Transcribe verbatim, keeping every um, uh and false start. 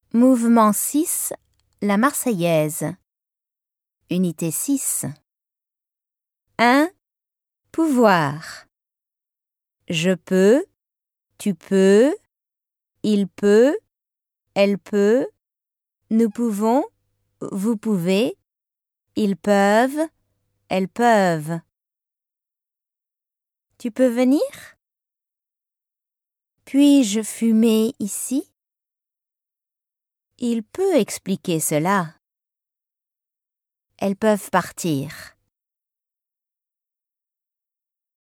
Mouvement six, la Marseillaise. Unité six. un. Pouvoir. Je peux, tu peux, il peut, elle peut, nous pouvons, vous pouvez, ils peuvent, elles peuvent. Tu peux venir? Puis-je fumer ici? Il peut expliquer cela. Elles peuvent partir.